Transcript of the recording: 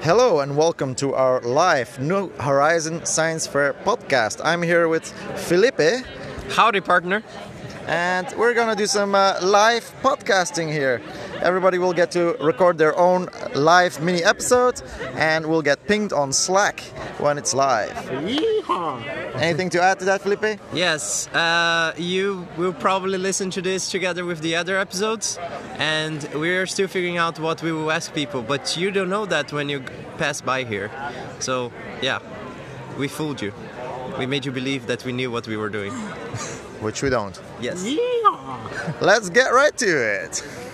Hello and welcome to our live New Horizon Science Fair podcast. I'm here with Felipe. Howdy, partner. And we're gonna do some live podcasting here. Everybody will get to record their own live mini episode and we'll get pinged on Slack when it's live. Yeehaw! Anything to add to that, Felipe? Yes, you will probably listen to this together with the other episodes, and we're still figuring out what we will ask people, but you don't know that when you pass by here. So, yeah, we fooled you. We made you believe that we knew what we were doing. Which we don't. Yes. Yeehaw! Let's get right to it.